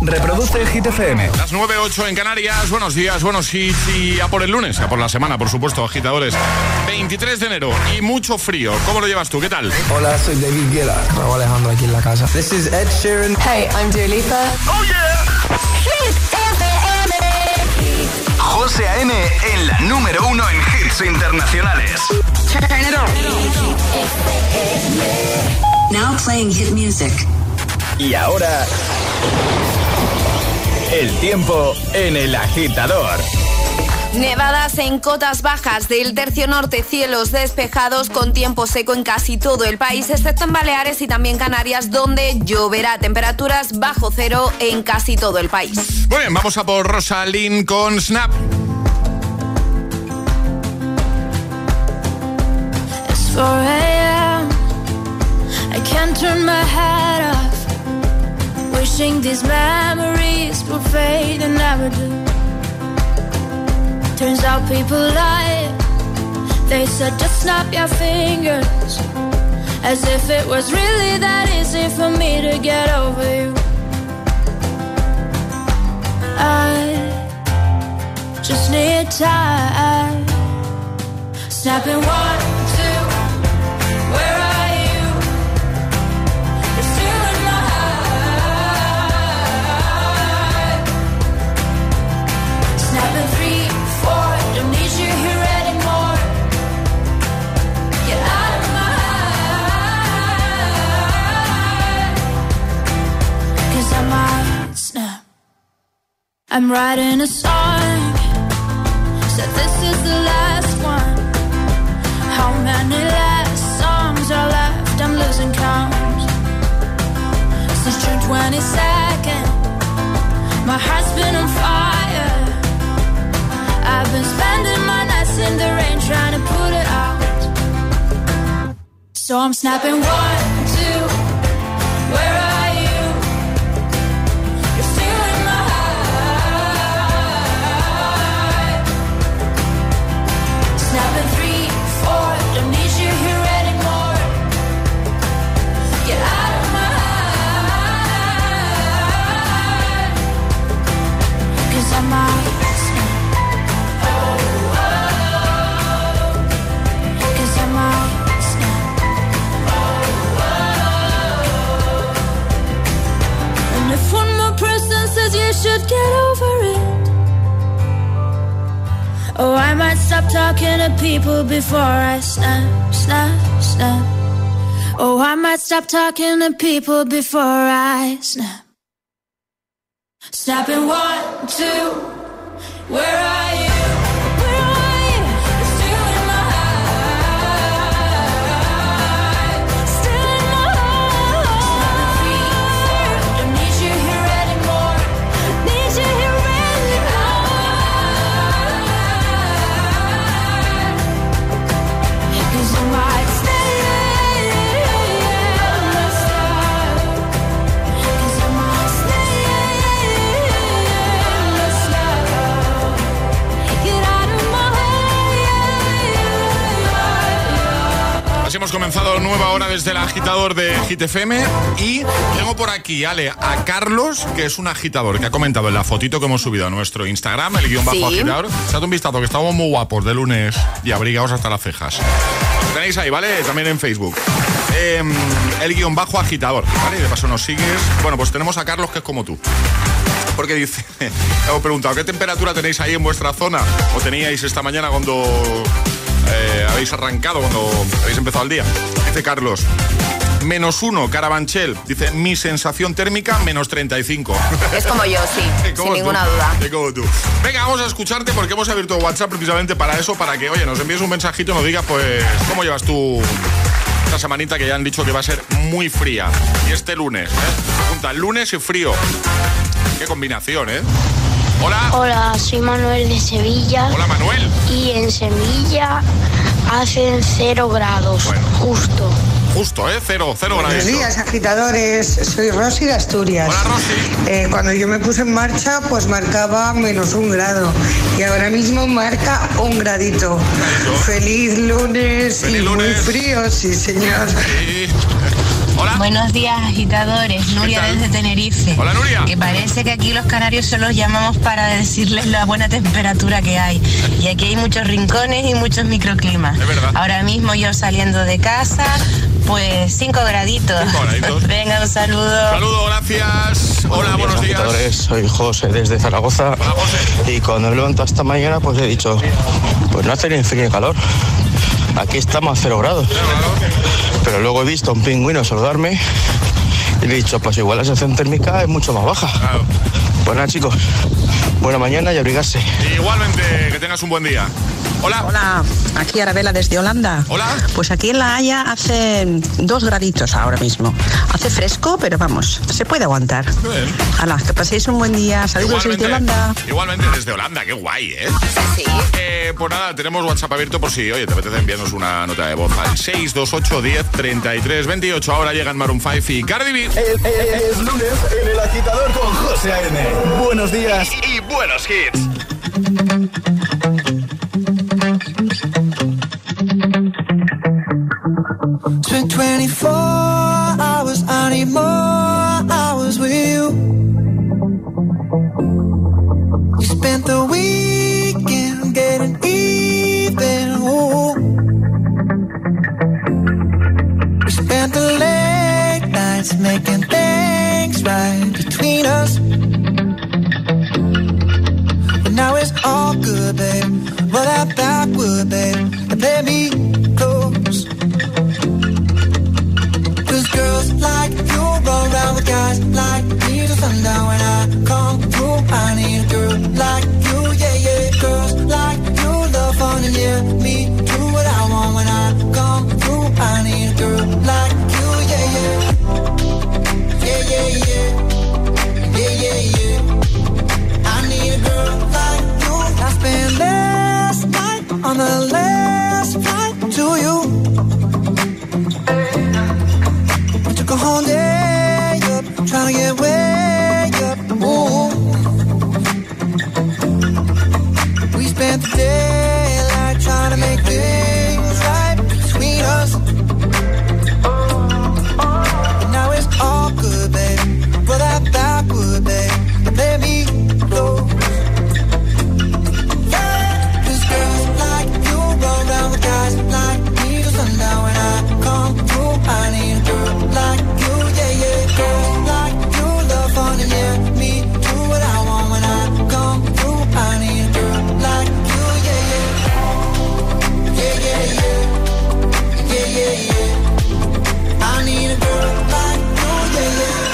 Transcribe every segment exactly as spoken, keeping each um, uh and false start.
Reproduce Hit F M. Las nueve ocho en Canarias. Buenos días, buenos hits y a por el lunes, a por la semana, por supuesto, agitadores. veintitrés de enero y mucho frío. ¿Cómo lo llevas tú? ¿Qué tal? Hola, soy David Guetta. Raúl Alejandro aquí en la casa. This is Ed Sheeran. Hey, I'm Dua Lipa. ¡Oh, yeah! Hit F M. José A M en la número uno en hits internacionales. Turn it on. Now playing hit music. Y ahora, el tiempo en El Agitador. Nevadas en cotas bajas del tercio norte, cielos despejados con tiempo seco en casi todo el país, excepto en Baleares y también Canarias, donde lloverá. Temperaturas bajo cero en casi todo el país. Muy bien, vamos a por Rosalind con Snap. It's four a.m. I can't turn my head off. Wishing these memories will fade and never do. Turns out people lie. They said just snap your fingers, as if it was really that easy for me to get over you. I just need time. Snapping one, two, where are you? You're still in my heart. Snapping three, don't need you here anymore. Get out of my heart. Cause I might snap. I'm writing a song. Said this is the last one. How many last songs are left? I'm losing count. Since June twenty-second, my heart's been on fire. I've been spending my nights in the rain trying to put it out. So I'm snapping one, two, where are you? You're still in my heart. Snapping three, four, don't need you here anymore. Get out of my heart. Cause I'm out. If one more person says you should get over it, oh, I might stop talking to people before I snap, snap, snap. Oh, I might stop talking to people before I snap. Snapping one, two, where are you? Hemos comenzado nueva hora desde el agitador de Hit F M y tengo por aquí, Ale, a Carlos, que es un agitador, que ha comentado en la fotito que hemos subido a nuestro Instagram, el guión bajo sí. agitador. Echad un vistazo, que estamos muy guapos de lunes y abrigados hasta las cejas. Lo tenéis ahí, ¿vale? También en Facebook. Eh, el guión bajo agitador, ¿vale? De paso nos sigues. Bueno, pues tenemos a Carlos, que es como tú. Porque dice, hemos preguntado, ¿qué temperatura tenéis ahí en vuestra zona? ¿O teníais esta mañana cuando... Eh, habéis arrancado, cuando habéis empezado el día? Dice Carlos, menos uno, Carabanchel. Dice, mi sensación térmica, menos treinta y cinco. Es como yo, sí, sin tú, ninguna duda. Como tú. Venga, vamos a escucharte porque hemos abierto WhatsApp precisamente para eso, para que, oye, nos envíes un mensajito y nos digas, pues, cómo llevas tú esta semanita que ya han dicho que va a ser muy fría. Y este lunes, ¿eh? Pregunta, lunes y frío. Qué combinación, ¿eh? Hola. Hola, soy Manuel de Sevilla. Hola, Manuel. Y en Sevilla hacen cero grados, bueno, justo. Justo, ¿eh? Cero, cero grados. Buenos días, agitadores. Soy Rosy de Asturias. Hola, Rosy. Eh, cuando yo me puse en marcha, pues marcaba menos un grado. Y ahora mismo marca un gradito. Eso. Feliz lunes. Feliz y lunes. Muy frío, sí, señor. Sí. Hola. Buenos días, agitadores. Nuria desde Tenerife. Hola, Nuria. Que parece que aquí los canarios solo los llamamos para decirles la buena temperatura que hay. Y aquí hay muchos rincones y muchos microclimas. Es verdad. Ahora mismo yo saliendo de casa, pues cinco graditos. Cinco graditos. Venga, un saludo. Saludo, gracias. Hola, buenos días. Agitadores, soy José desde Zaragoza. Hola, José. Y cuando me levanto esta mañana, pues he dicho, pues no hace ni frío ni calor. Aquí estamos a cero grados. Pero luego he visto a un pingüino saludarme y le he dicho, pues igual la sensación térmica es mucho más baja. Claro. Pues nada, chicos, buena mañana y abrigarse. Igualmente, que tengas un buen día. Hola. Hola, aquí Arabela desde Holanda. Hola. Pues aquí en La Haya hace dos graditos ahora mismo. Hace fresco, pero vamos, se puede aguantar. Bien. Hala, que paséis un buen día. Saludos Igualmente, desde Holanda. Igualmente desde Holanda, qué guay, ¿eh? Sí. Eh, pues nada, tenemos WhatsApp abierto por si, oye, te apetece enviarnos una nota de voz al seis dos ocho, diez, treinta y tres, veintiocho. Ahora llegan Maroon cinco y Cardi B. Es, es, es lunes en El Agitador con José A M. Buenos días y, y buenos hits. twenty-four hours, I need more hours with you. You spent the weekend getting even, ooh. We spent the late nights making things right between us. But now it's all good, babe. Roll that backward, babe, and play me close. Girls like you run around with guys like me till sundown. When I come through, I need a girl like you, yeah, yeah. Girls like you love fun and yeah, me do what I want. When I come through, I need a girl like you, yeah, yeah. Yeah, yeah, yeah. Yeah, yeah, yeah. I need a girl like you. I spent last night on the last flight to you. Took a whole day up, trying to get way up, ooh. We spent the daylight trying to make things right between us. And now it's all good, baby. Roll that backward, baby, and let me close. Yeah, 'cause girls like you run around with guys like me till sundown. When I come through, I need a girl like you, yeah, yeah. Girls like you love fun and yeah, me do what I want. When I come through, I need a girl like you, yeah, yeah. Yeah, yeah, yeah. Yeah, yeah, yeah. I need a girl like you, yeah, yeah.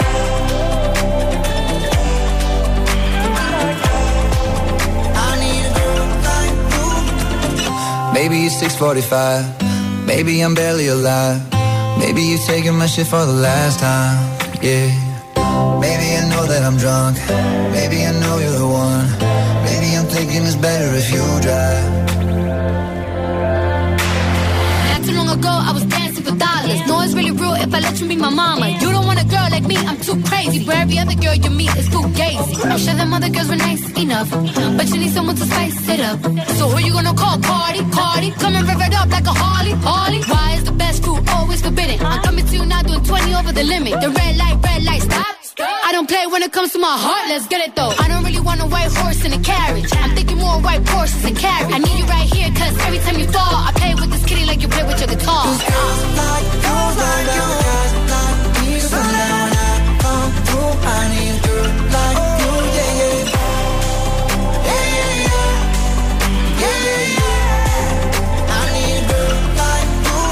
I need a girl like you. Maybe it's six forty-five. Maybe I'm barely alive. Maybe you're taking my shit for the last time, yeah. Maybe I know that I'm drunk. Maybe I know you're the one. Maybe I'm thinking it's better if you drive. Not too long ago, I was dancing for dollars. No, it's really real if I let you be my mama. You don't want a girl like me, I'm too crazy. But every other girl you meet is too gazy. I'm sure them other girls were nice enough, but you need someone to spice it up. So who you gonna call? Cardi, Cardi. Come and rev it up like a Harley, Harley. Why is the best food always forbidden? I'm coming to you now doing twenty over the limit. The red light, red light, stop. I don't play when it comes to my heart, let's get it though. I don't really want a white horse in a carriage. I'm thinking more white horses and carriage. I need you right here, cause every time you fall, I play with this kitty like you play with your guitar. Cause girls like you, like you, guys like me, so now when I come through, I need a girl like you, yeah, yeah. Yeah, yeah, yeah. Yeah, yeah, yeah. I need a girl like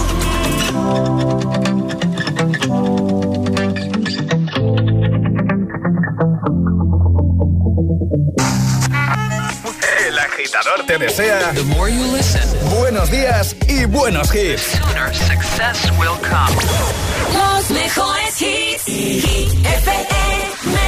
you. El Agitador te desea buenos días y buenos hits. Sooner success will come. Los mejores hits. Hit F M.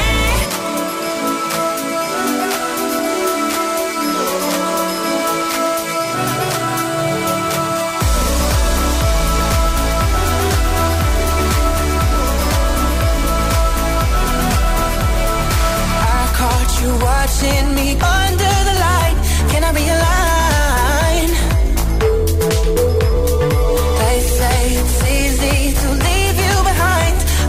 You watching me under the light. Can I realign? They say it's easy to leave you behind.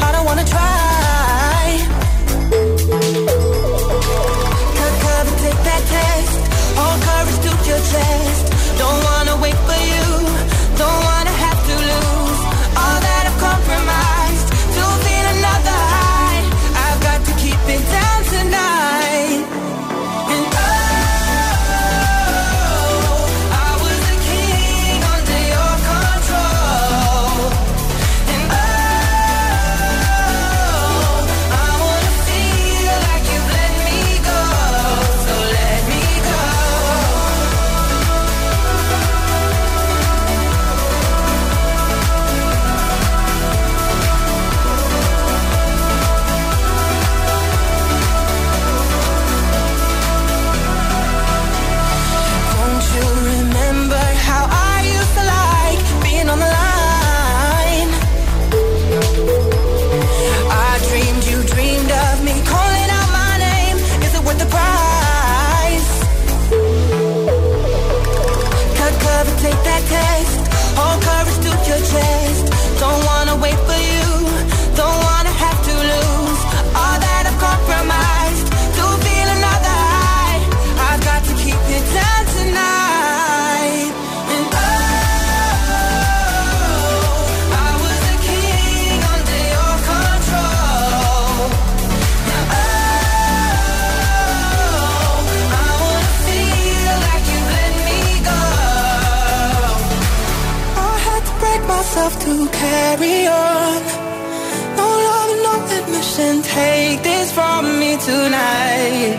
love to carry on. No love, no admission. Take this from me tonight.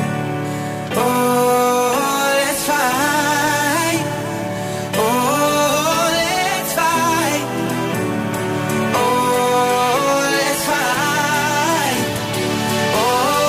Oh, let's fight. Oh, let's fight. Oh, let's fight. Oh,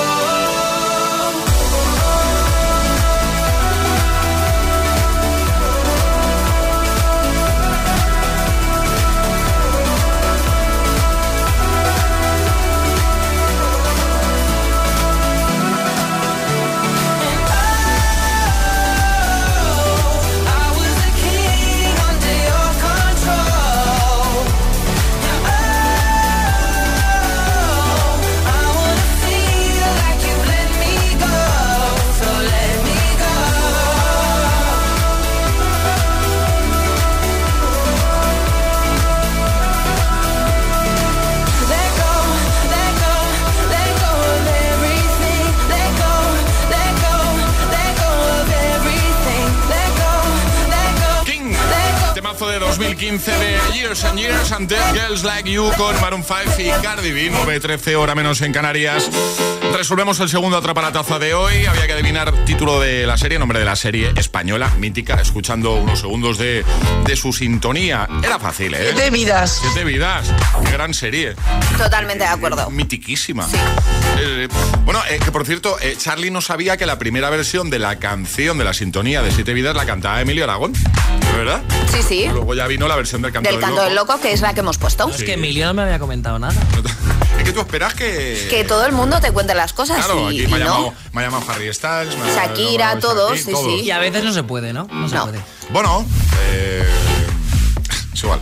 de dos mil quince de Years and Years and Dead Girls Like You con Maroon cinco y Cardi B. Nueve trece, hora menos en Canarias. Resolvemos el segundo atrapalataza de hoy. Había que adivinar título de la serie, nombre de la serie española, mítica, escuchando unos segundos de, de su sintonía. Era fácil, ¿eh? Siete vidas. Siete vidas. Qué gran serie. Totalmente de acuerdo. Mitiquísima. Sí. Eh, bueno, eh, que por cierto, eh, Charlie no sabía que la primera versión de la canción de la sintonía de Siete vidas la cantaba Emilio Aragón. ¿Verdad? Sí, sí. Luego ya vino la versión del Canto del, del Canto Loco. del Loco, que es la que hemos puesto. Sí. Es que Emilio no me había comentado nada. Es que tú esperas que... Que todo el mundo te cuente las cosas. Claro, y, aquí me ha, y llamado, no. me ha llamado Harry Styles, me ha Shakira, llamado todos, Shakira, sí, todos. sí. Y a veces no se puede, ¿no? No se no. puede. Bueno, eh... es igual.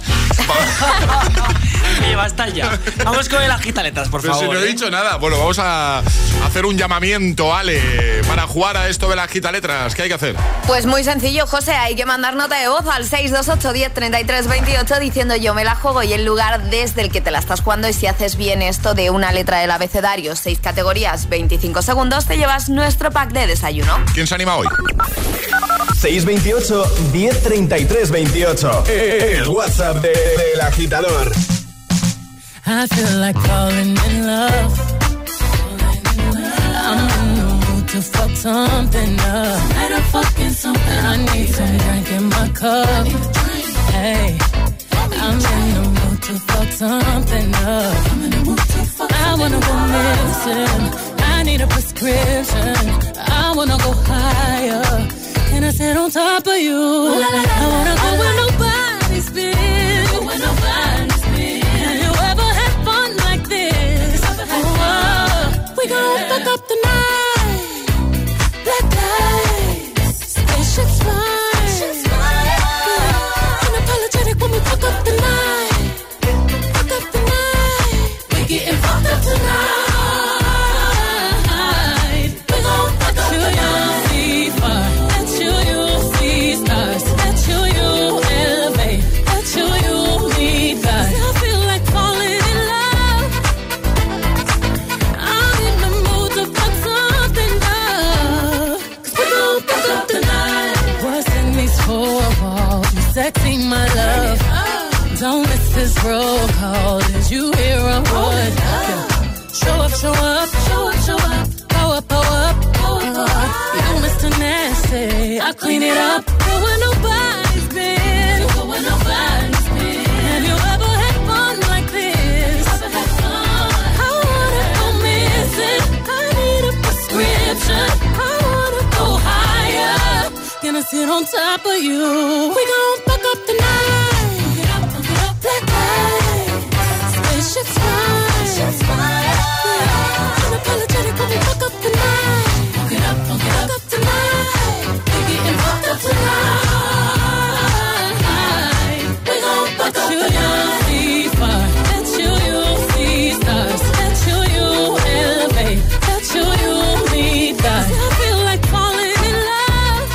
Oye, basta ya. Vamos con el agitaletras, por Pero favor. si no he ¿eh? dicho nada. Bueno, vamos a hacer un llamamiento, Ale, para jugar a esto de las agitaletras. ¿Qué hay que hacer? Pues muy sencillo, José. Hay que mandar nota de voz al seis dos ocho, diez, treinta y tres, veintiocho diciendo yo me la juego y el lugar desde el que te la estás jugando. Y si haces bien esto de una letra del abecedario, seis categorías, veinticinco segundos, te llevas nuestro pack de desayuno. ¿Quién se anima hoy? seis veintiocho, diez, treinta y tres, veintiocho. El WhatsApp de, de El Agitador. I feel like falling in love. I'm in the mood to fuck something up. Let her fucking something. I need some drink in my cup. Hey, I'm in the mood to fuck something up. I'm in the mood to fuck I wanna go missing. I need a prescription. I wanna go higher. Can I sit on top of you? I wanna go where nobody's been. Go where nobody's been. Have you ever had fun like this? Oh, we gon' fuck up the night. Black lights, spaceships fly. Unapologetic when we fuck up the night. Fuck up the night. We getting fucked up tonight. We gon' fuck up the night. Sexy, my love. Don't miss this roll call. Did you hear a word? Show up, show up, show up, show up. Go up, go up, go up, go up. You Mister Nasty, I clean it up. Go where nobody's been. Go where nobody's been. Have you ever had fun like this? Ever had fun? I wanna go missing. I need a prescription. I wanna go higher. Gonna sit on top of you. We gon' fuck up the night. Fuck it up, fuck it up. Black lights, spaceships fly. Unapologetic when we fuck up the night. Fuck it up, fuck it up, fuck up tonight. We getting fucked up tonight. We gon' fuck up the night. See fire, let you, you see stars. Let you, you elevate. Let you, you need that. I feel like falling in love.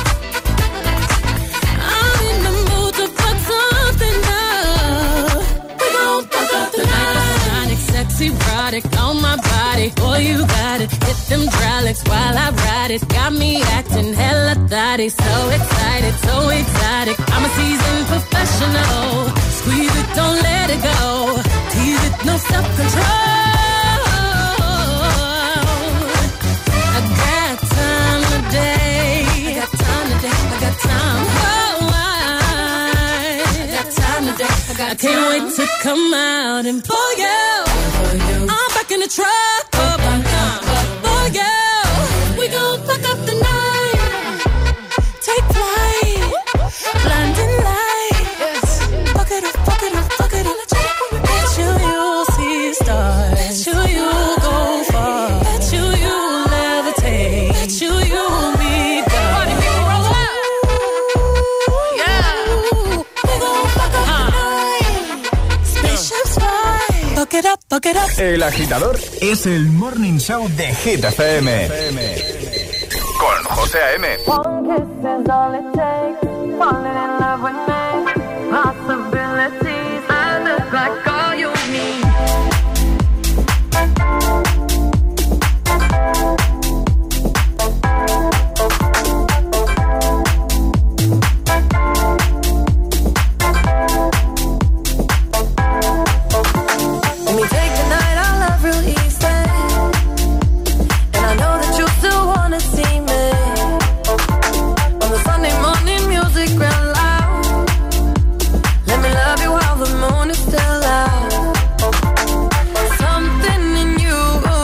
I'm in the mood to fuck something up. We gon' fuck up the night. Sexy, erotic on my body. Boy, you got it. Hit them hydraulics while I ride it. Got me acting hella thotty. So excited, so exotic. I'm a seasoned professional. Squeeze it, don't let it go. Tease it, no self-control. I got time today. I got time today. I got time. Oh, I, I got time today. I, got I can't time. wait to come out and pull you. I'm back in the truck. Oh, for you. We gon' fuck up the night. Take flight. Blinding lights. Fuck it up, fuck it up, fuck it up. Bet you you'll see stars. Bet you you'll go far. Bet you you'll levitate. Bet you you'll be gone. Party people roll up. Yeah. We gon' fuck up the night. Spaceships fly. Fuck it up, fuck it up. El Agitador es el Morning Show de Hit F M. Con José A M. One kiss is all it takes. Falling in love with me. Possibilities. I look like all you need. Let me take the night, I love real easy. And I know that you still wanna see me. On the Sunday morning music real loud. Let me love you while the moon is still out. Something in you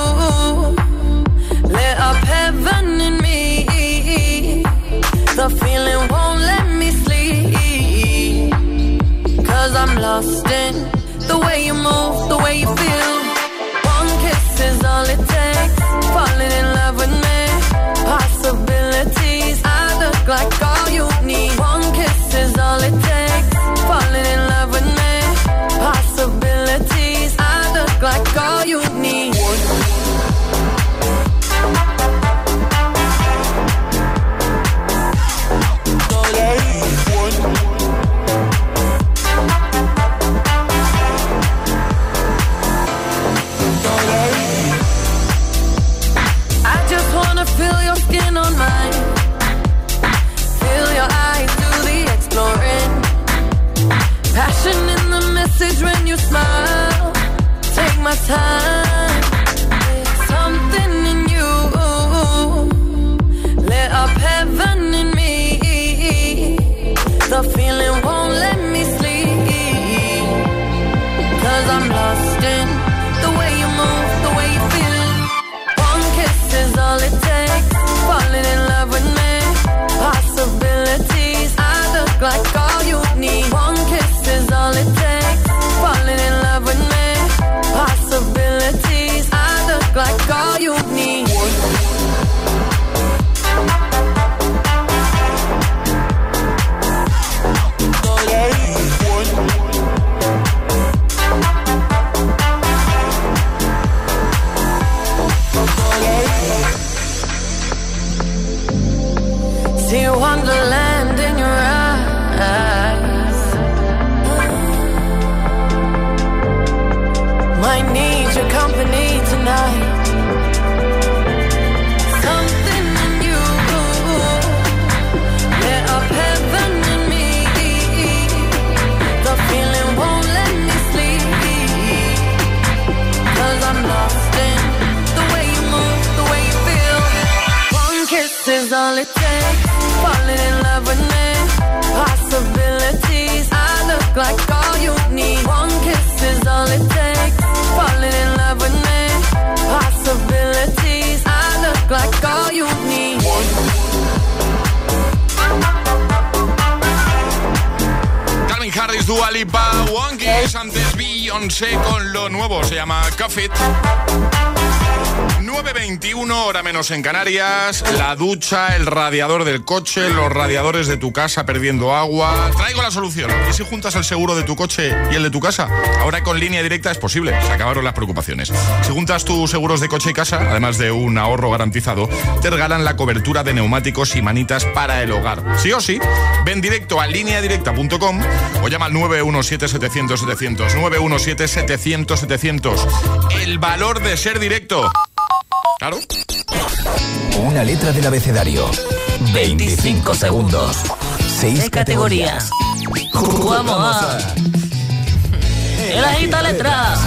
lit up heaven in me. The feeling won't let me sleep. Cause I'm lost in the way you move, the way you feel. One kiss is all it takes. Falling in love with me. Possibilities. I look like all you need. One kiss is all it takes. Falling in love with me. Possibilities. I look like all you need. I just wanna feel your skin on mine. Feel your eyes do the exploring. Passion in the message when you smile. Take my time. Something in you lit up heaven in me. The feeling won't let me sleep. Cause I'm lost in the way you move, the way you feel. One kiss is all it takes. Falling in love with me. Possibilities. I look like all you need. One kiss is all it takes. Falling in love with me. Possibilities. I look like all you need. See wonderland in your eyes. Might need your company tonight. Something in you lit up heaven in me. The feeling won't let me sleep. Cause I'm lost in the way you move, the way you feel. One kiss is all it takes. Falling in love with me. Possibilities. I look like all you need. One kiss is all it takes. Falling in love with me. Possibilities. I look like all you need. Calvin Harris, Dua Lipa, One Kiss. Antes Beyoncé con lo nuevo. Se llama Cuff It. nueve veintiuno, hora menos en Canarias. La ducha, el radiador del coche, los radiadores de tu casa perdiendo agua. Traigo la solución. ¿Y si juntas el seguro de tu coche y el de tu casa? Ahora con Línea Directa es posible. Se acabaron las preocupaciones. Si juntas tus seguros de coche y casa, además de un ahorro garantizado, te regalan la cobertura de neumáticos y manitas para el hogar. Sí o sí, ven directo a línea directa punto com o llama al nueve uno siete, setecientos, setecientos. nueve uno siete, setecientos, setecientos. El valor de ser directo. Claro. Una letra del abecedario. veinticinco segundos. seis categorías. Jugamos a El agita letras.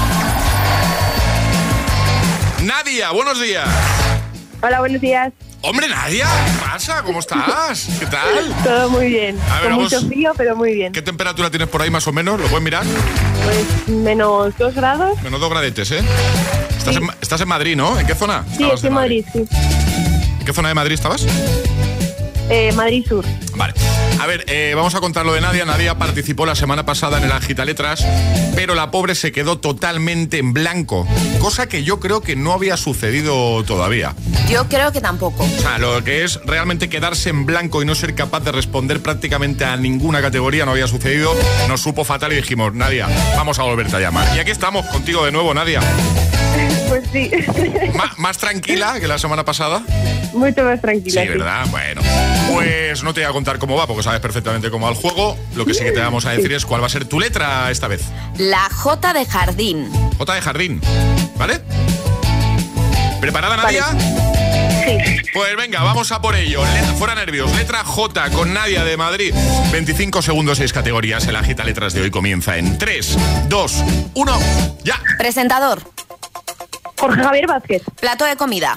Nadia, buenos días. Hola, buenos días. Hombre, Nadia, ¿qué pasa? ¿Cómo estás? ¿Qué tal? Todo muy bien. A ver, Con vamos. mucho frío, pero muy bien. ¿Qué temperatura tienes por ahí más o menos? ¿Lo puedes mirar? Pues menos dos grados. Menos dos gradetes, ¿eh? Estás, sí. en, estás en Madrid, ¿no? ¿En qué zona? Sí, estoy en Madrid, sí. ¿En qué zona de Madrid estabas? Eh, Madrid Sur. Vale. A ver, eh, vamos a contar lo de Nadia. Nadia participó la semana pasada en el Agitaletras, pero la pobre se quedó totalmente en blanco, cosa que yo creo que no había sucedido todavía. Yo creo que tampoco. O sea, lo que es realmente quedarse en blanco y no ser capaz de responder prácticamente a ninguna categoría no había sucedido. Nos supo fatal y dijimos, Nadia, vamos a volverte a llamar. Y aquí estamos contigo de nuevo, Nadia. Pues sí. ¿Más, más tranquila que la semana pasada? Mucho más tranquila. Sí, ¿verdad? Sí. Bueno, pues no te voy a contar cómo va, porque sabes perfectamente cómo va el juego. Lo que sí que te vamos a decir sí. es cuál va a ser tu letra esta vez. La J de jardín. J de jardín, ¿vale? ¿Preparada, Nadia? Vale. Sí. Pues venga, vamos a por ello. Letra, fuera nervios. Letra J con Nadia de Madrid. veinticinco segundos, seis categorías. El Agita Letras de hoy comienza en tres, dos, uno, ya. Presentador. Jorge Javier Vázquez. Plato de comida.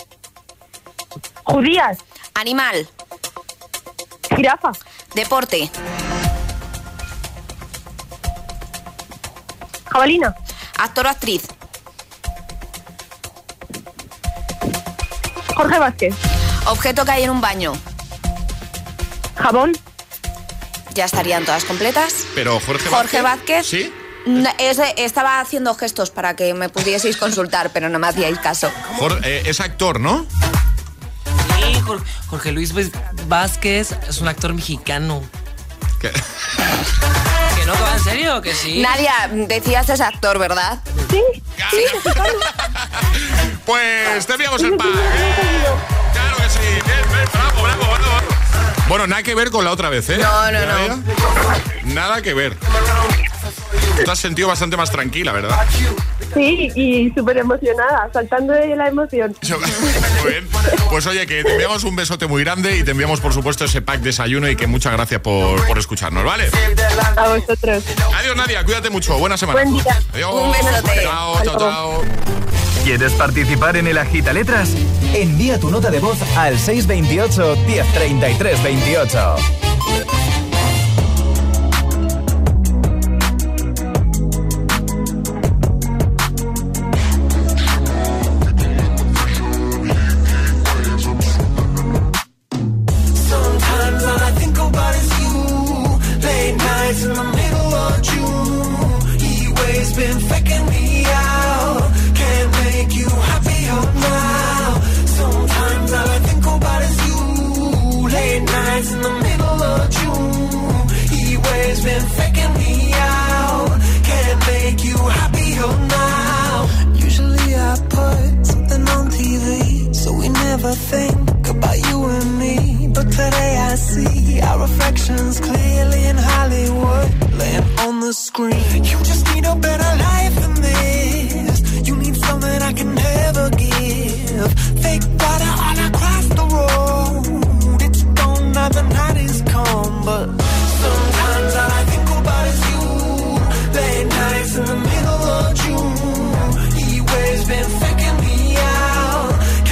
Judías. Animal. Jirafa. Deporte. Jabalina. Actor o actriz. Jorge Vázquez. Objeto que hay en un baño. Jabón. Ya estarían todas completas. Pero Jorge, Jorge Vázquez. Vázquez. ¿Sí? No, es, estaba haciendo gestos para que me pudieseis consultar, pero no me hacíais caso. Jorge, eh, es actor, ¿no? Sí, Jorge, Jorge Luis Vázquez es un actor mexicano. ¿Qué? ¿Que no? ¿En serio? ¿Que sí? Nadia, decías es actor, ¿verdad? Sí. Sí. Pues te enviamos el pack. ¿eh? Claro que sí. Bien, bien, bravo, bravo, bravo. Bueno, nada que ver con la otra vez, ¿eh? No, no, no. Nada que ver. Te has sentido bastante más tranquila, ¿verdad? Sí, y súper emocionada, saltando de la emoción. Muy bien. Pues oye, que te enviamos un besote muy grande y te enviamos, por supuesto, ese pack desayuno y que muchas gracias por, por escucharnos, ¿vale? A vosotros. Adiós, Nadia, cuídate mucho. Buena semana. Buen día. Adiós. Un besote. Chao, chao, chao. ¿Quieres participar en el Agitaletras? Envía tu nota de voz al seis veintiocho, diez treinta y tres veintiocho. Think about you and me, but today I see our reflections clearly in Hollywood, laying on the screen. You just need a better life than this. You need something I can never give. Fake water all across the road. It's gone now, the night is come, but sometimes all I think about is you. Late nights in the middle of June. He waves been faking me out.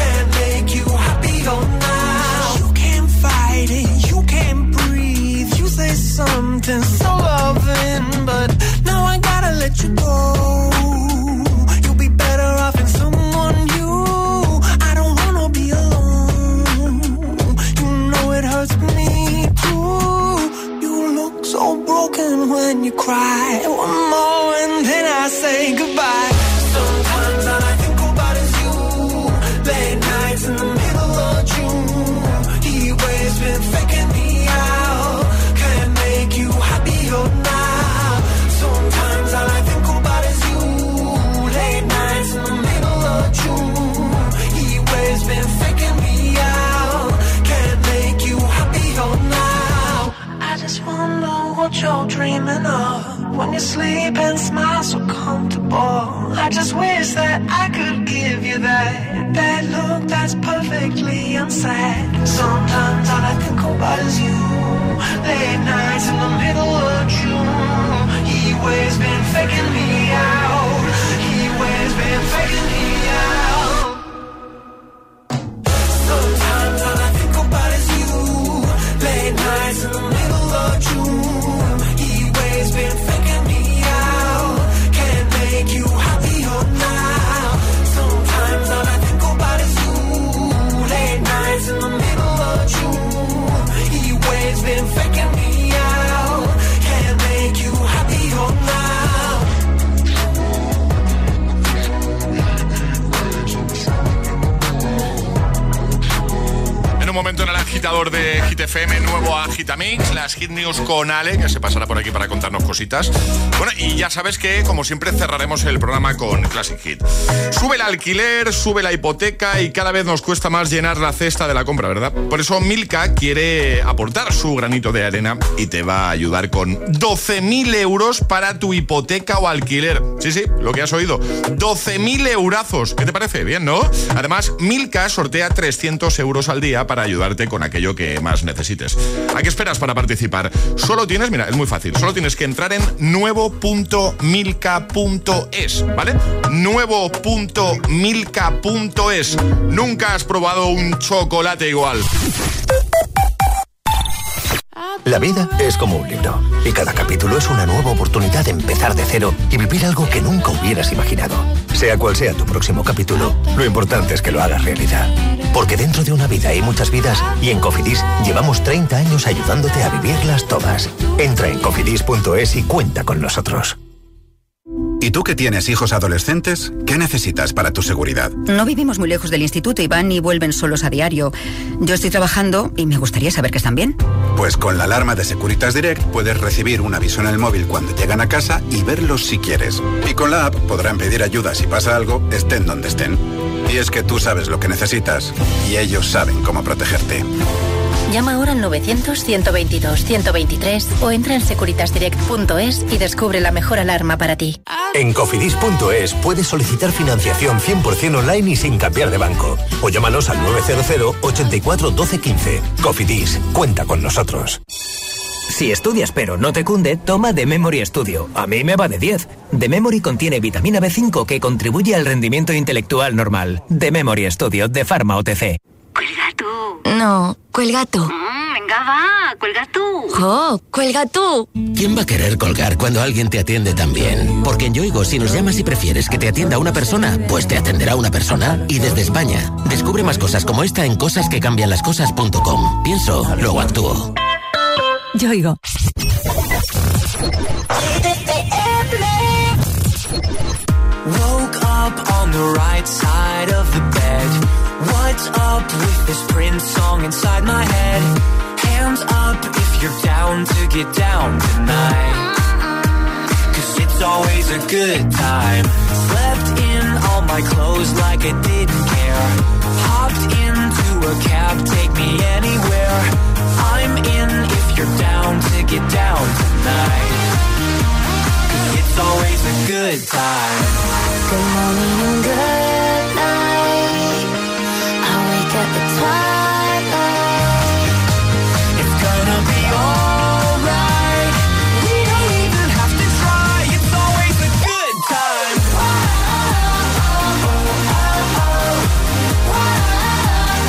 Now. You can't fight it, you can't breathe. You say something so loving, but now I gotta let you go. You'll be better off in someone new. I don't wanna be alone. You know it hurts me too. You look so broken when you cry. One more and then I say goodbye. Sometimes all I think about is you. Late nights in the middle of June. He waves been faking me out. Can't make you happier now. Sometimes all I think about is you. Late nights in the middle of June. He waves been faking me out. Can't make you happier now. I just wonder what you're dreaming of. When you sleep and smile so comfortable. I just wish that I could give you that that look that's perfectly unsaid. Sometimes all I think about is you. Late nights in the middle of June. He always been faking me out. He always been faking me out. Sometimes all I think about is you. Late nights in the middle of June. He always been faking me out. Can't make you happier now. Sometimes all I think about is you. Late nights in the middle of June. He always been faking me out. Can't make you happier now. En un momento en el agitador de Hit F M, nuevo Agitamix, las Hit News con Ale, que se pasará por aquí para contarnos cositas. Bueno, y ya sabes que, como siempre, cerraremos el programa con Classic Hit. Sube el alquiler, sube la hipoteca y cada vez nos cuesta más llenar la cesta de la compra, ¿verdad? Por eso Milka quiere aportar su granito de arena y te va a ayudar con doce mil euros para tu hipoteca o alquiler. Sí, sí, lo que has oído. doce mil eurazos. ¿Qué te parece? Bien, ¿no? Además, Milka sortea trescientos euros al día para ayudarte con aquello que más necesites. ¿A qué esperas para participar? Solo tienes, mira, es muy fácil, solo tienes que entrar en nuevo punto milka punto es, ¿vale? nuevo punto milka punto es. Nunca has probado un chocolate igual. La vida es como un libro y cada capítulo es una nueva oportunidad de empezar de cero y vivir algo que nunca hubieras imaginado. Sea cual sea tu próximo capítulo, lo importante es que lo hagas realidad. Porque dentro de una vida hay muchas vidas y en Cofidis llevamos treinta años ayudándote a vivirlas todas. Entra en cofidis punto es y cuenta con nosotros. ¿Y tú que tienes hijos adolescentes? ¿Qué necesitas para tu seguridad? No vivimos muy lejos del instituto y van y vuelven solos a diario. Yo estoy trabajando y me gustaría saber que están bien. Pues con la alarma de Securitas Direct puedes recibir un aviso en el móvil cuando llegan a casa y verlos si quieres. Y con la app podrán pedir ayuda si pasa algo, estén donde estén. Y es que tú sabes lo que necesitas y ellos saben cómo protegerte. Llama ahora al novecientos, ciento veintidós, ciento veintitrés o entra en securitas direct punto es y descubre la mejor alarma para ti. En cofidis punto es puedes solicitar financiación cien por ciento online y sin cambiar de banco. O llámanos al nueve cero cero, ochenta y cuatro, doce, quince. Cofidis, cuenta con nosotros. Si estudias pero no te cunde, toma The Memory Studio. A mí me va de diez. The Memory contiene vitamina B cinco que contribuye al rendimiento intelectual normal. The Memory Studio de Pharma O T C. Cuelga tú. No, cuelga tú. Mm, venga, va, cuelga tú. ¡Oh, cuelga tú! ¿Quién va a querer colgar cuando alguien te atiende tan bien? Porque en Yoigo, si nos llamas y prefieres que te atienda una persona, pues te atenderá una persona. Y desde España, descubre más cosas como esta en cosas que cambian las cosas punto com. Pienso, luego actúo. Yoigo. Woke up on the right side of the bed. What's up with this Prince song inside my head? Hands up if you're down to get down tonight. Cause it's always a good time. Slept in all my clothes like I didn't care. Hopped into a cab, take me anywhere. I'm in if you're down to get down tonight. Cause it's always a good time. Good morning and good night. I wake up at twilight. It's gonna be alright. We don't even have to try. It's always a good time.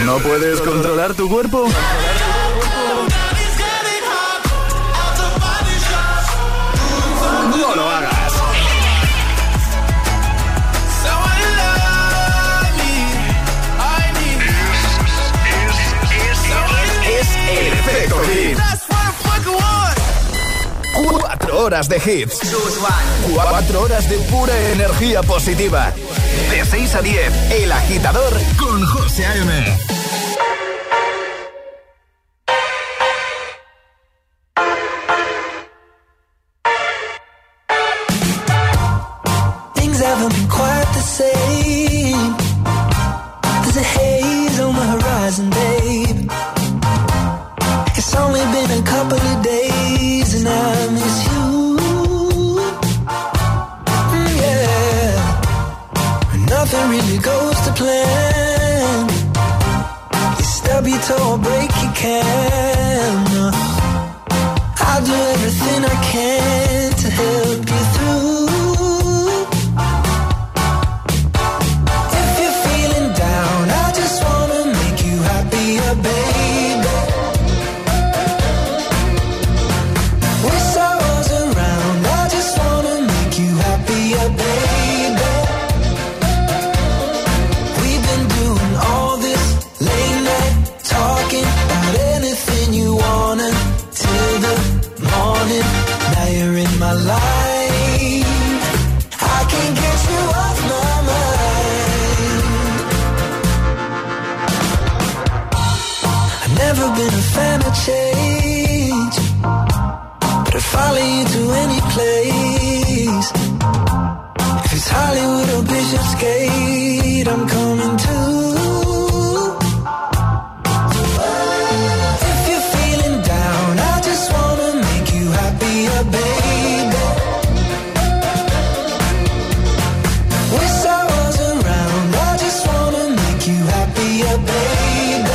¿No puedes controlar tu cuerpo? No lo hagas. Es el efecto hit. Cuatro horas de hits. Cuatro horas de pura energía positiva. De seis a diez, El Agitador con José A M. Things haven't been quite the same. There's a haze on the horizon, babe. It's only been a couple of days and I miss you. Mm, yeah. Nothing really goes to plan. You stub your toe or break your can. I'll do everything I can to help you through. If you're feeling down, I just wanna make you happier, baby. With sorrows around, I just wanna make you happier, baby. We've been doing all this late night talking about anything you wanna till the morning. Now you're in my life. I can't get you off my mind. I've never been a fan of change, but I'd follow you to any place. If it's Hollywood or Bishopsgate, I'm coming too. If you're feeling down, I just wanna make you happier, baby. With sorrows around, I just wanna make you happier, baby.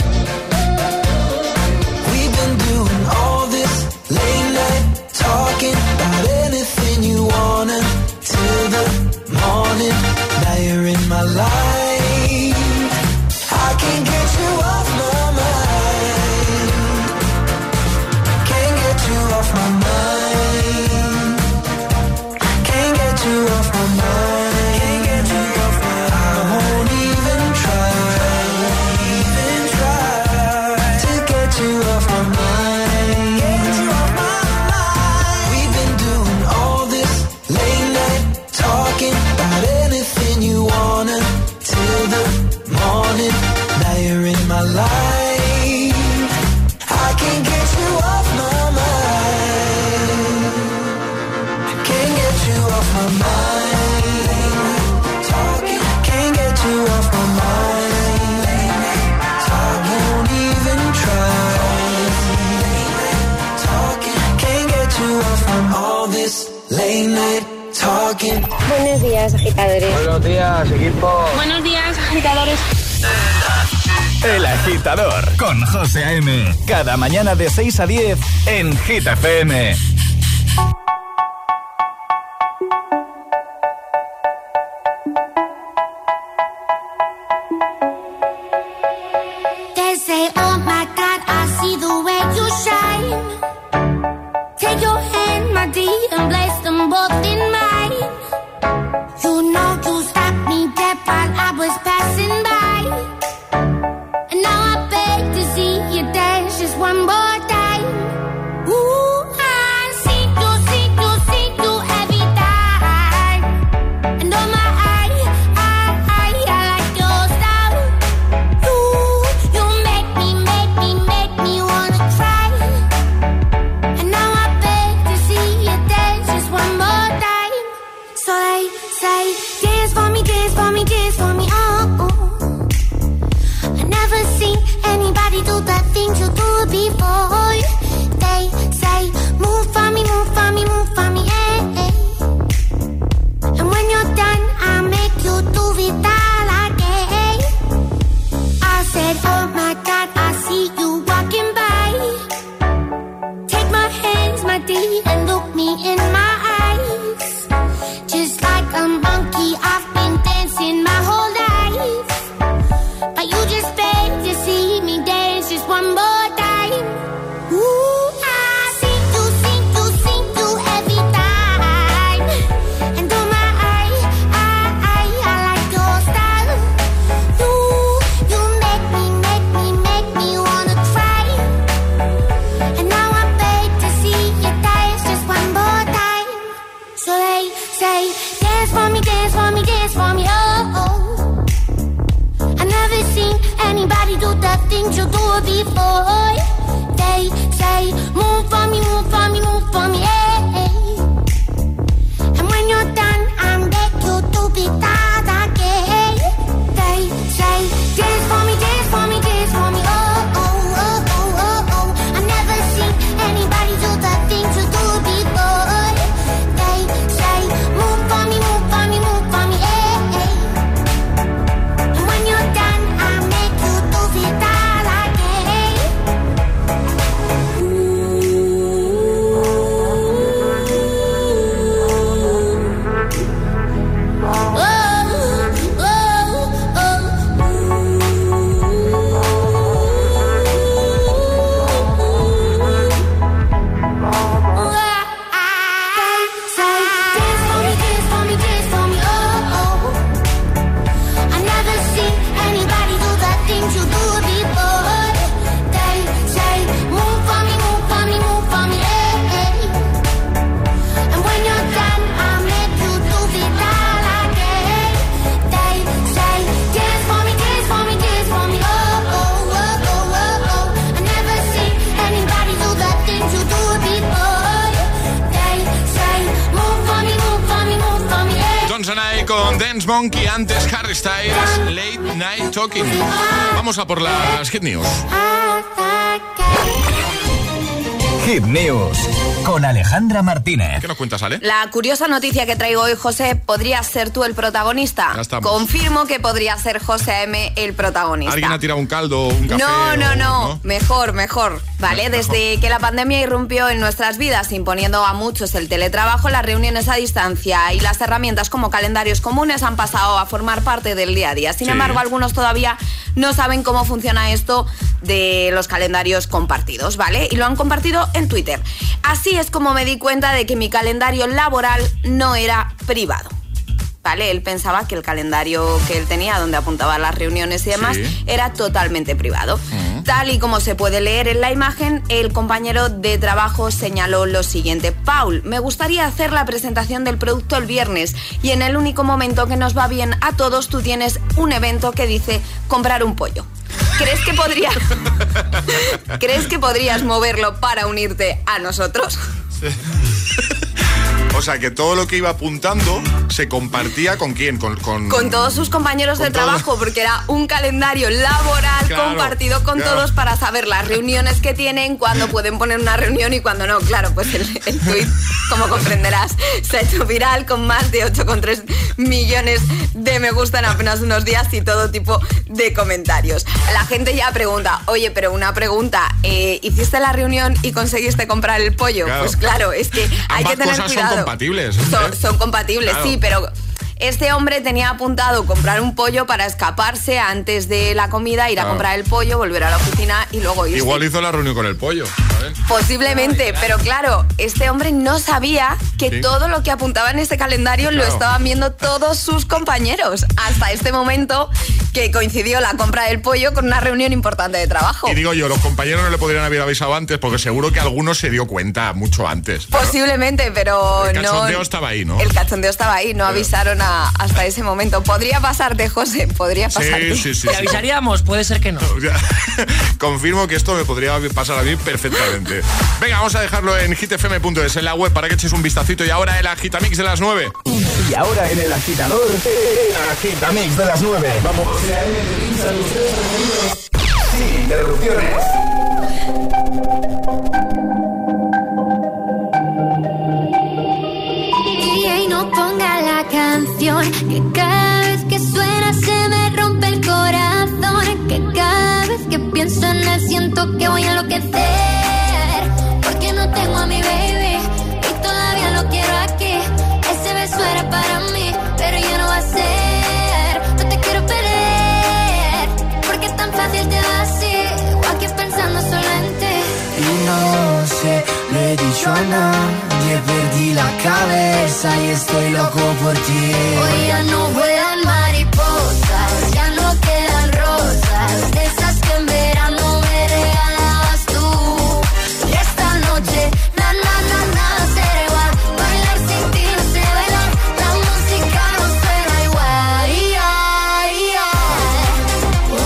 We've been doing all this late night talking about anything you wanna till the morning. Now you're in my life. I can't get you off my mind. Can't get you off my mind. Can't get you off my mind. Can't get you off my mind. I won't even try, even try to get you off my mind. Get you off my mind. We've been doing all this late night talking about anything you wanna till the morning. Now you're in my life. I can't get you off my mind. Can't get you off my mind. Talking, can't get you off my mind. Talking, won't even try. Talking, can't get you off from all this late night talking. Buenos días, agitadores. Buenos días, equipo. Buenos días, agitadores. El Agitador con José A M. Cada mañana de seis a diez en Hit F M. They say, oh my God, I see the way you shine. Take your hand, my dear, and place them both in mine. You know you stopped me dead while I was passing by. And now I beg to see you dance just one more time. Ooh, I see you, see you, see you every time. And oh my, I, I, I, I like your style. You, you make me, make me, make me wanna try. con Dance Monkey, antes Harry Styles, Late Night Talking. Vamos a por las Hit News. Hit News con Alejandra Martínez. ¿Qué nos cuentas, Ale? La curiosa noticia que traigo hoy, José, ¿podrías ser tú el protagonista? Ya estamos. Confirmo que podría ser José A M el protagonista. ¿Alguien ha tirado un caldo, un café? No, no, o, no, no. Mejor, mejor. Vale, Mejor. Desde que la pandemia irrumpió en nuestras vidas, imponiendo a muchos el teletrabajo, las reuniones a distancia y las herramientas como calendarios comunes han pasado a formar parte del día a día. Sin Sí. embargo, algunos todavía no saben cómo funciona esto de los calendarios compartidos, ¿vale? Y lo han compartido en Twitter. Así es como me di cuenta de que mi calendario laboral no era privado. ¿Vale? Él pensaba que el calendario que él tenía, donde apuntaba las reuniones y demás, Sí. era totalmente privado. Uh-huh. Tal y como se puede leer en la imagen, el compañero de trabajo señaló lo siguiente: Paul, me gustaría hacer la presentación del producto el viernes y en el único momento que nos va bien a todos tú tienes un evento que dice comprar un pollo. ¿Crees que podría... ¿Crees que podrías moverlo para unirte a nosotros? Sí. O sea, que todo lo que iba apuntando se compartía ¿con quién? Con, con... con todos sus compañeros con de todos. trabajo, porque era un calendario laboral Claro, compartido con claro. todos para saber las reuniones que tienen, cuándo pueden poner una reunión y cuándo no. Claro, pues el, el tuit, como comprenderás, se ha hecho viral con más de ocho coma tres millones de me gusta en apenas unos días y todo tipo de comentarios. La gente ya pregunta, oye, pero una pregunta, eh, ¿hiciste la reunión y conseguiste comprar el pollo? Claro. Pues claro, es que hay Ambas que tener cosas cuidado. son compatibles. Son, son compatibles, Claro. sí, pero este hombre tenía apuntado comprar un pollo para escaparse antes de la comida, ir Claro. a comprar el pollo, volver a la oficina y luego irse. Igual hizo la reunión con el pollo, ¿sabes? Posiblemente, pero claro, este hombre no sabía que Sí. todo lo que apuntaba en ese calendario lo Claro. estaban viendo todos sus compañeros. Hasta este momento que coincidió la compra del pollo con una reunión importante de trabajo. Y digo yo, los compañeros no le podrían haber avisado antes porque seguro que alguno se dio cuenta mucho antes. Claro. Posiblemente, pero El no... cachondeo estaba ahí, ¿no? El cachondeo estaba ahí, no avisaron a- hasta ese momento. Podría pasarte, José, podría pasarte. Sí, sí, sí. ¿Te sí. avisaríamos? Puede ser que no. Ya, confirmo que esto me podría pasar a mí perfectamente. Venga, vamos a dejarlo en hit f m punto es en la web para que eches un vistacito. Y ahora el Agitamix de las nueve. Y ahora en el agitador, el Agitamix de las nueve. Vamos. Sin interrupciones. D J, no ponga la canción, que cada vez que suena se me rompe el corazón, que cada vez que pienso en él siento que voy a enloquecer, porque no tengo a mi baby y todavía lo quiero aquí. Ese beso era para mí, pero ya no va a ser. No te quiero perder, porque es tan fácil te va así, o aquí pensando solo en ti. Y no sé, lo he dicho a nadie, perdí la cabeza y estoy loco por ti. Hoy ya no vuelan mariposas, ya no quedan rosas, de esas que en verano me regalabas tú. Y esta noche, na, na, na, nada será igual, bailar sin ti no sé bailar, la música no suena igual. Y ay, ay, oh,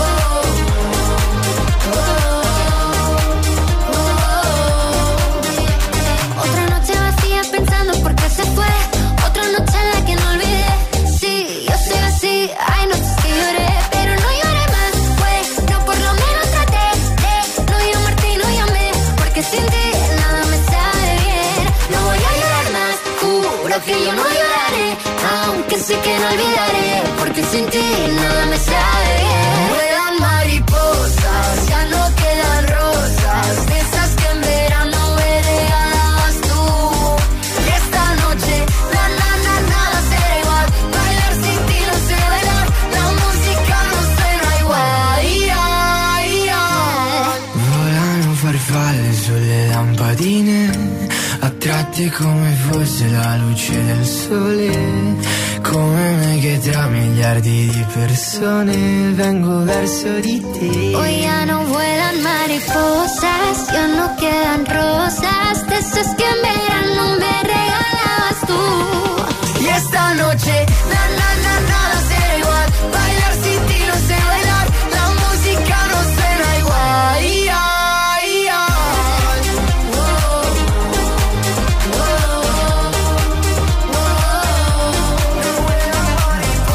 oh, oh. Otra noche vacía pensando por qué se fue, otra noche en la que no olvidé. Sí, yo soy así, hay noches que lloré, pero no lloré más, pues, no, por lo menos traté de no llamarte y no llamé, porque sin ti nada me sabe bien. No voy a llorar más, juro que yo no lloraré, aunque sé que no olvidaré, porque sin ti nada me sabe bien. Vuelan mariposas, ya no quedan rosas, de esas que en verano me regalabas tú. Y esta noche, na, na, na, nada será igual, bailar sin ti no sé bailar, la música no suena igual. Y ay, ay. Volano farfalle sulle lampadine, attratte come fosse la luce del sole. Come me che tra miliardi di persone vengo verso di te. Hoy ya no vuelan mariposas, ya no quedan rosas, de esas que en verano me regalabas tú. Y esta noche, na, na, na, nada será igual, bailar sin ti no sé bailar, la música no suena igual. Y ay, ay, oh, oh, oh, oh.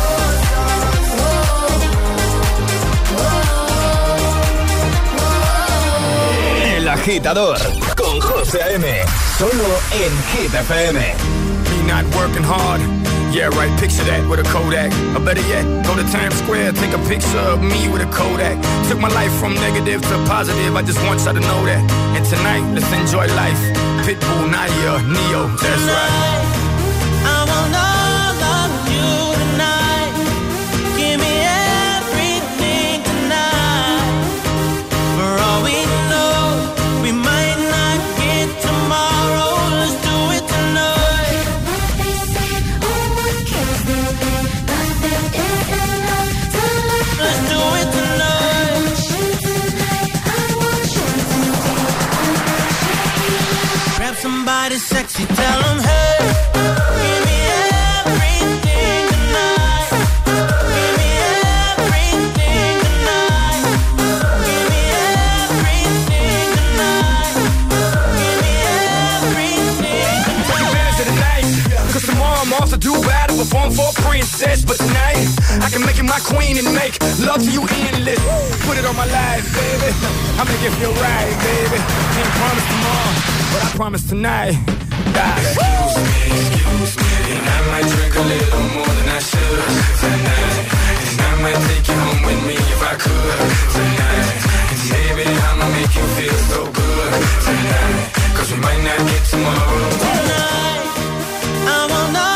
Agitador con José A M. Solo en Hit F M. Me not working hard. Yeah, right, picture that with a Kodak. Or better yet, go to Times Square, take a picture of me with a Kodak. Took my life from negative to positive, I just want y'all to know that. And tonight, let's enjoy life. Pitbull, Nadia, Neo, that's right. I want all of you tonight. Give me everything tonight. For all we know, we might not get tomorrow. Let's do it tonight. Let's do it tonight. Grab somebody sexy, tell them hey. Perform for a princess, but tonight I can make you my queen and make love to you endless. Put it on my life, baby. I make it feel right, baby. Can't promise tomorrow, but I promise tonight. Die. Excuse me, excuse me, and I might drink a little more than I should tonight. And I might take you home with me if I could tonight. And baby, I'ma make you feel so good tonight. Cause we might not get tomorrow. Tonight, I want all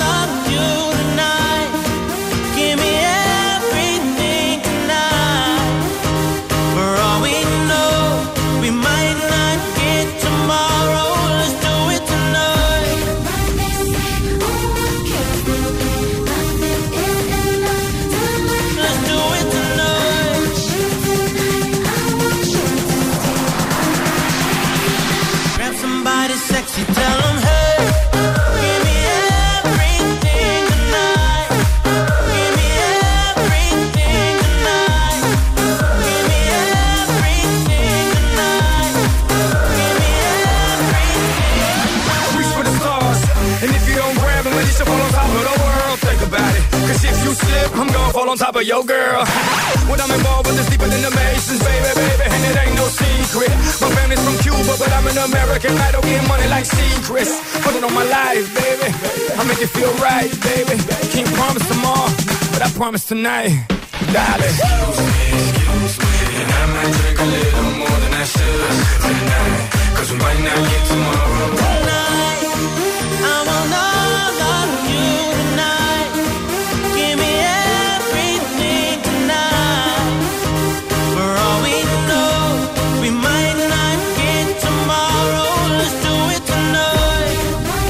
I'm gonna fall on top of your girl. When I'm involved with this deeper than the Masons, baby, baby, and it ain't no secret. My family's from Cuba, but I'm an American. I don't get money like secrets. Put it on my life, baby. I make it feel right, baby. Can't promise tomorrow, but I promise tonight, darling. Excuse me, excuse me, and I might drink a little more than I should tonight. Cause we might not get tomorrow. Tonight, I want all of you tonight. Give me everything tonight. For all we know, we might not get tomorrow. Let's do it tonight.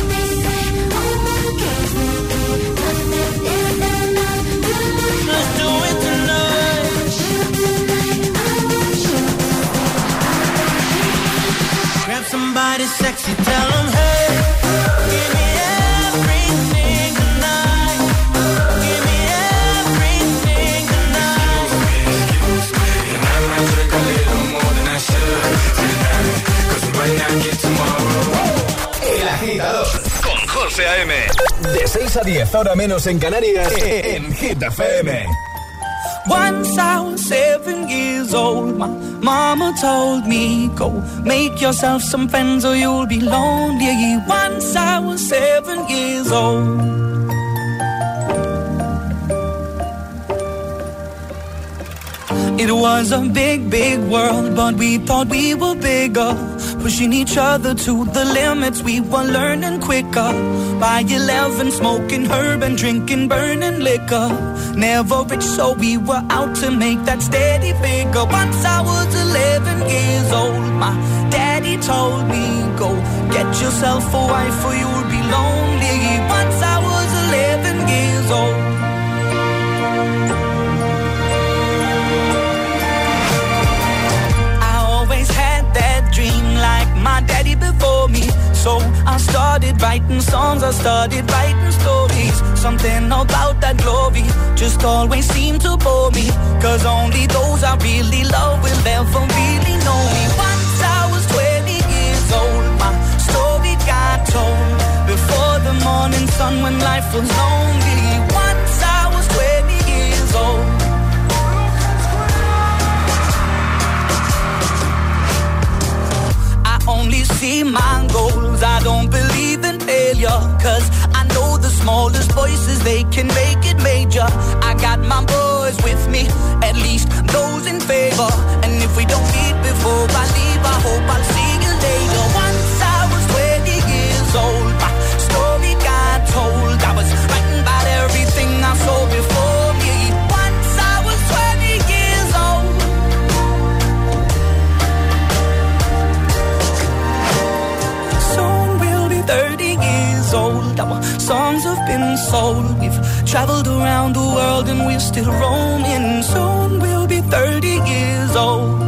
Let's do it tonight. Grab somebody sexy, tell them hey. Give me everything tonight. Give me everything tonight. Excuse me, and I might drink a little more than I should tonight. Cause we might not get tomorrow. El Agitador con José A M. De seis a diez, hora menos en Canarias, en Hit F M. Once I was seven years old, my mama told me, go make yourself some friends or you'll be lonely. Once I was seven years old. It was a big, big world, but we thought we were bigger. Pushing each other to the limits, we were learning quicker. By eleven, smoking herb and drinking burning liquor. Never rich, so we were out to make that steady figure. Once I was eleven years old, my daddy told me, go get yourself a wife or you'll be lonely. Once I was eleven years old. Like my daddy before me, so I started writing songs, I started writing stories. Something about that glory just always seemed to bore me, cause only those I really love will ever really know me. Once I was twenty years old, my story got told before the morning sun when life was lonely. Once I was twenty years old. see my goals. I don't believe in failure, cause I know the smallest voices, they can make it major. I got my boys with me, at least those in favor. And if we don't meet before I leave, I hope I'll see you later. Once I was twenty years old, my story got told. I was writing about everything I saw before me. Once I was twenty years old. Soon we'll be thirty years old. Our songs have been sold. We've traveled around the world and we're still roaming. Soon we'll be thirty years old.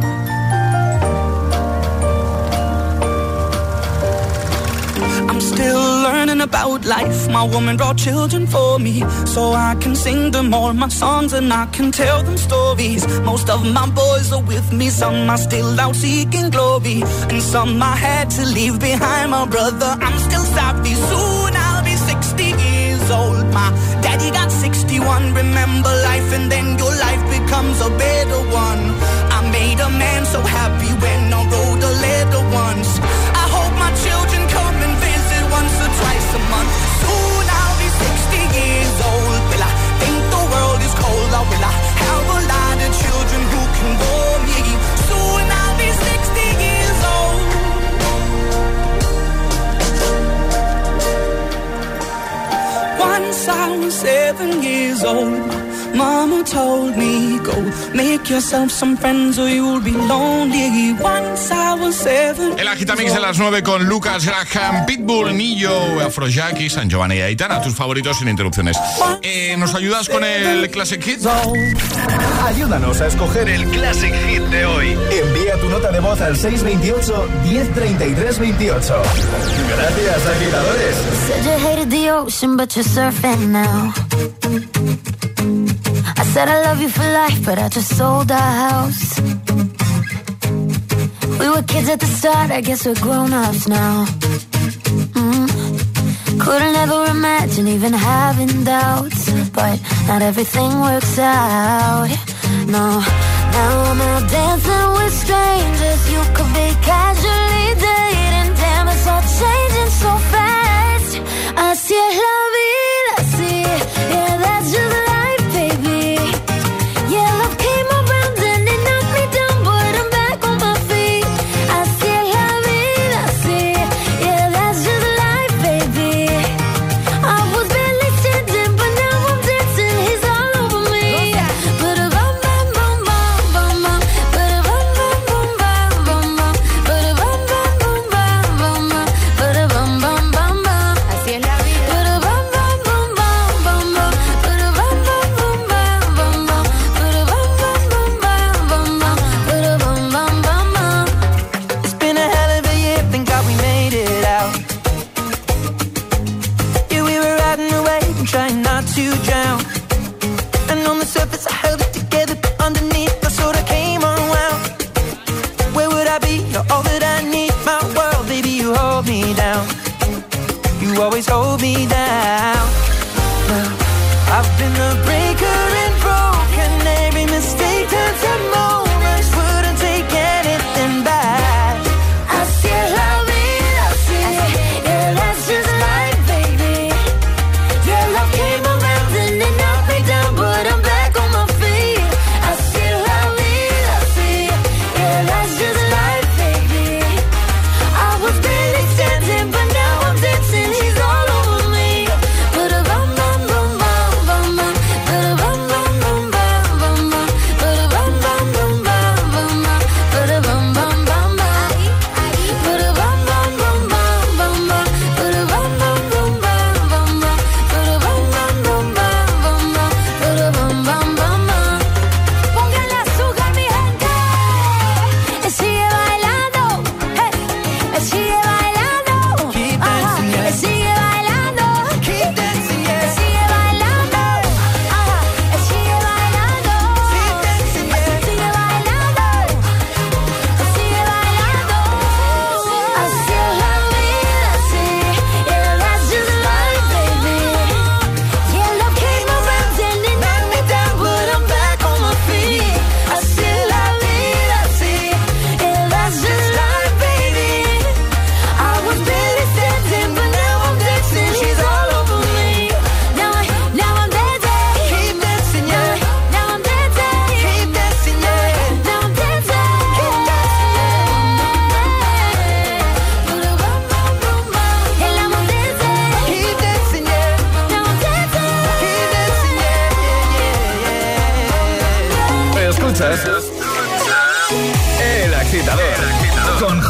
I'm still learning about life. My woman brought children for me, so I can sing them all my songs and I can tell them stories. Most of my boys are with me, some are still out seeking glory, and some I had to leave behind. My brother, I'm still sorry. Soon I'll be sixty years old. My daddy got sixty-one. Remember life and then your life becomes a better one. I made a man so happy when I wrote a letter once. I hope my children come and visit once or twice a month. Soon I'll be sixty years old. Will I think the world is cold, or will I have a lot of children who can bore me? Soon I'll be sixty years old. Once I was seven years old. Mama told me, go make yourself some friends or you'll be lonely. Once I was seven. El Agitamix de las nueve con Lucas Graham, Pitbull, Nillo, Afrojack y San Giovanni y Aitana, tus favoritos sin interrupciones. Eh, ¿Nos ayudas con el Classic Hit? Ayúdanos a escoger el Classic Hit de hoy. Envía tu nota de voz al seis veintiocho, diez treinta y tres veintiocho. Gracias, agitadores. Said you hated the ocean, but you're surfing now. I said I love you for life, but I just sold our house. We were kids at the start, I guess we're grown-ups now. Mm. Couldn't ever imagine even having doubts, but not everything works out. No, now I'm out dancing with strangers. You could be casually dating. Damn, it's all changing so fast. Así es la vida, así, yeah, that's just life. Always hold me down. Well, I've been a breaker and broken. Every mistake turns to moments. Wouldn't take anything back. Así es la vida, así. Yeah, that's just life, baby. Yeah, love came around and it knocked me down, but I'm back on my feet. Así es la vida, así. Yeah, that's just life, baby. I was barely standing, but now I'm dancing. He's all over me. But a bum bum bum bum bum bum. But a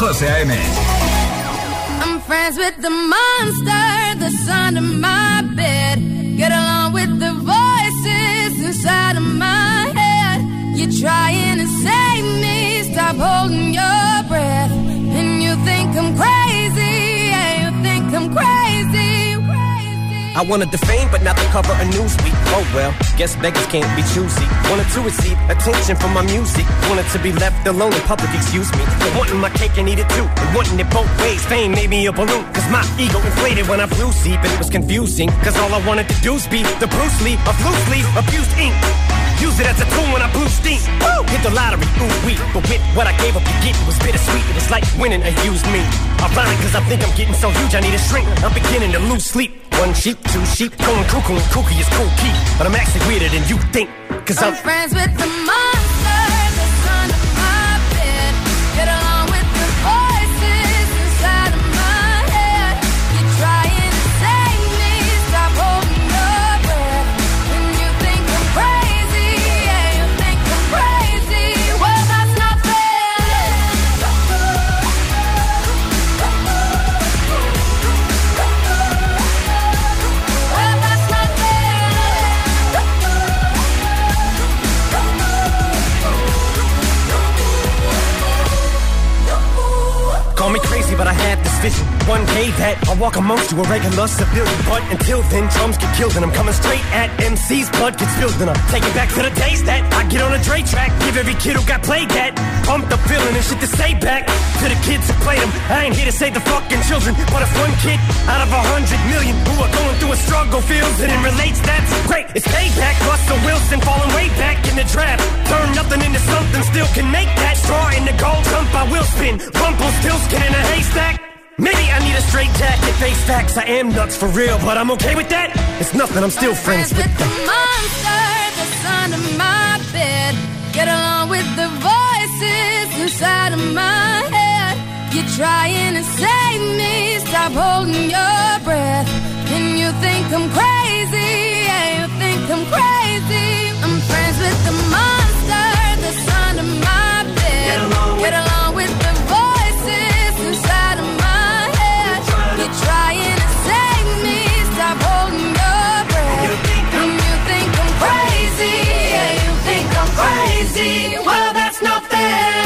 José A M. I'm friends with the monster that's under my bed. Get along with the voices inside of my head. You're trying to save me, stop holding your breath. And you think I'm crazy, yeah, you think I'm crazy, crazy. I wanted the fame, but not the cover of Newsweek. Oh well, guess beggars can't be choosy. Wanted to receive attention from my music. Wanted to be left alone in public, excuse me. But wanting my cake and eat it too. And wanting it both ways, fame made me a balloon. Cause my ego inflated when I flew see, but it was confusing. Cause all I wanted to do was be the Bruce Lee of loosely abused ink. Use it as a tool when I blew steam. Woo! Hit the lottery, ooh wee. But with what I gave up to get, it was bittersweet. It was like winning a used me. Ironic, cause I think I'm getting so huge I need a shrink. I'm beginning to lose sleep. One sheep, two sheep, going cuckoo and kooky is cool key. But I'm actually weirder than you think. Cause I'm, I'm friends with the monster that's under my bed. Get along with the voices inside of my head. You're trying to save me, stop holding your breath. And you think I'm crazy, yeah, you think I'm crazy. Well, that's not fair. Well, that's not call me crazy, but I had this vision. One day that I'll walk amongst you, a regular civilian. But until then, drums get killed and I'm coming straight at M C's. Blood gets spilled and I'm taking back to the days that I get on a Dre track. Give every kid who got played that pump the feeling and shit to say back to the kids who played them. I ain't here to save the fucking children, but if one kid out of a hundred million who are going through a struggle feels it and relates, that's great. It's payback. Russell Wilson falling way back in the draft. Turn nothing into something, still can make that. Straw in the gold jump, I will spin. Rumple still skin in a haystack. Maybe I need a straight jacket, face facts. I am nuts for real, but I'm okay with that. It's nothing, I'm still friends, friends with, with the monster that's under my bed. Get along with the voices inside of my head. You're trying to save me, stop holding your breath. And you think I'm crazy, yeah, you think I'm crazy. I'm friends with the monster that's under my bed. Get along with, Get along with the voices inside of my head. You're trying to save me, stop holding your breath. And you think I'm crazy, yeah, you think I'm crazy. Well, that's not fair.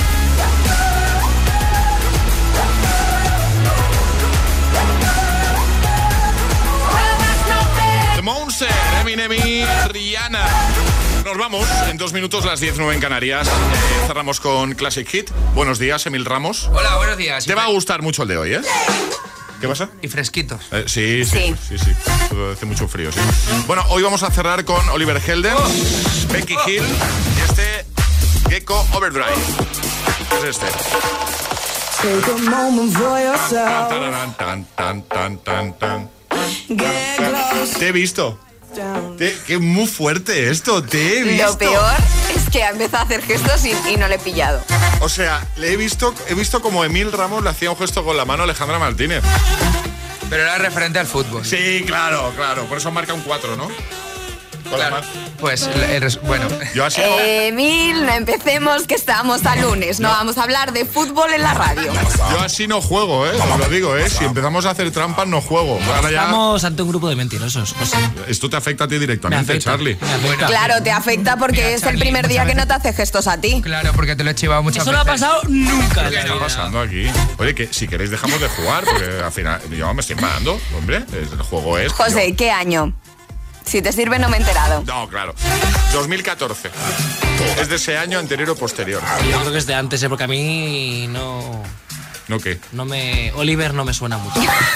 Monster, Eminem y Rihanna. Nos vamos, en dos minutos, las diez nueve en Canarias. Eh, cerramos con Classic Hit. Buenos días, Emil Ramos. Hola, buenos días. Te va a gustar mucho el de hoy, ¿eh? ¿Qué pasa? Y fresquitos. Eh, sí, sí, sí, sí, sí. Hace mucho frío, sí. Bueno, hoy vamos a cerrar con Oliver Heldens, oh. Becky oh. Hill y este Gecko Overdrive. ¿Qué es este? Take a moment for yourself. Tan, tan, tan, tan, tan, tan. Te he visto. Te, qué muy fuerte esto, te he visto. Lo peor es que ha empezado a hacer gestos y, y no le he pillado. O sea, le he visto, he visto como Emil Ramos le hacía un gesto con la mano a Alejandra Martínez. Pero era referente al fútbol. Sí, claro, claro. Por eso marca un cuatro, ¿no? Claro. Pues, el, bueno. Yo así eh, Emil, no empecemos que estamos a lunes. No, no vamos a hablar de fútbol en la radio. Yo así no juego, ¿eh? Os lo digo, ¿eh? Si empezamos a hacer trampas, no juego. Ahora ya... Estamos ante un grupo de mentirosos, José. Esto te afecta a ti directamente, Charlie. Bueno, claro, te afecta porque Mira, es Charlie, el primer día que no te hace gestos a ti. Claro, porque te lo he chivado muchas Eso veces. Eso no ha pasado nunca. ¿Qué está pasando aquí? Oye, que si queréis dejamos de jugar, porque al final yo me estoy enfadando, hombre. El juego es... José, yo... ¿qué año? Si te sirve, no me he enterado. No, claro. dos mil catorce. ¿Es de ese año anterior o posterior? Yo creo que es de antes, ¿eh? Porque a mí no... ¿No qué? No me... Oliver no me suena mucho.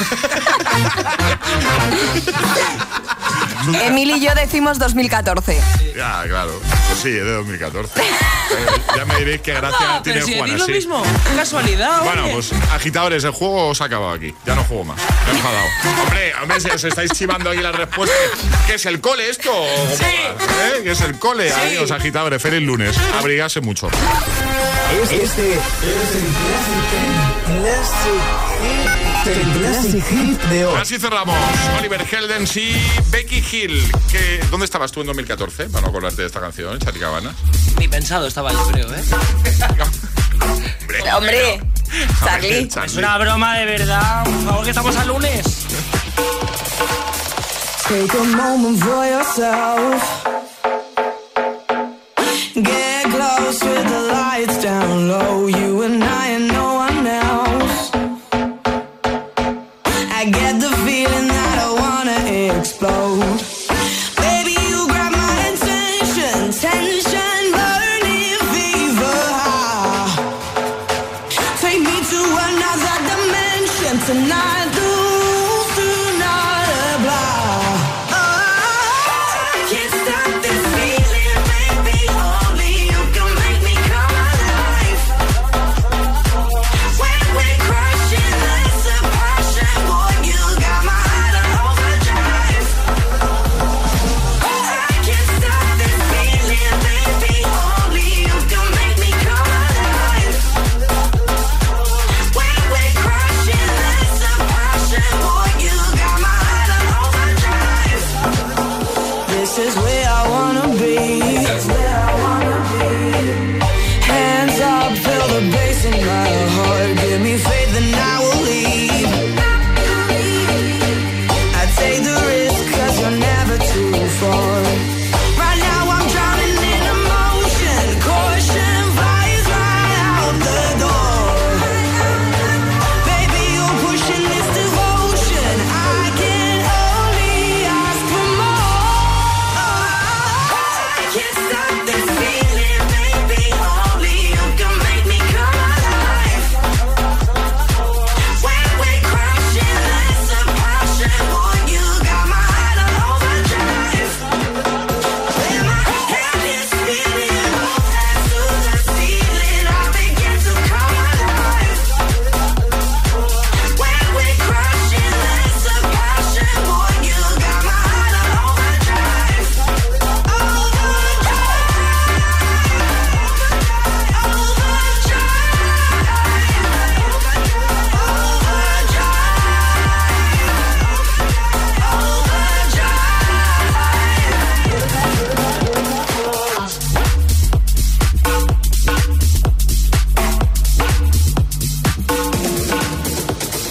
Emil y yo decimos dos mil catorce. Ya, claro. Pues sí, es de dos mil catorce. Ya me diréis qué gracia no, tiene pero si Juan así. lo mismo. Casualidad, Bueno, oye. pues agitadores, el juego se ha acabado aquí. Ya no juego más. Me he enfadado. Hombre, hombre, si os estáis chivando aquí las respuestas. ¿Qué es el cole esto? Sí. ¿Eh? ¿Qué es el cole? Sí. Amigos agitadores, feliz lunes. Abrigarse mucho. Este es el Classic, el Classic Hit de hoy. Así cerramos. Oliver Heldens y Becky Hill. Que, ¿Dónde estabas tú en dos mil catorce? Para no acordarte de esta canción, Chati Cabanas. Ni pensado estaba yo, creo, ¿eh? Hombre, Hombre, Charlie. Es una broma de verdad. Por favor, que estamos al lunes. Take a moment for yourself. Get close with the lights down low. You and I and no one else. I get the feeling that I wanna explode. Baby, you grab my attention. Tension, burning fever high. Take me to another dimension tonight.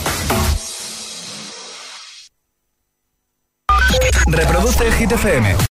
Reproduce Hit F M.